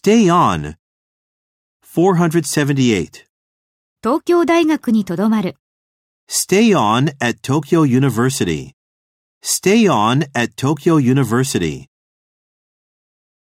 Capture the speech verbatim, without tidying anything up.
Stay on. four seventy-eight. 東京大学にとどまる。 Stay on at Tokyo University. Stay on at Tokyo University.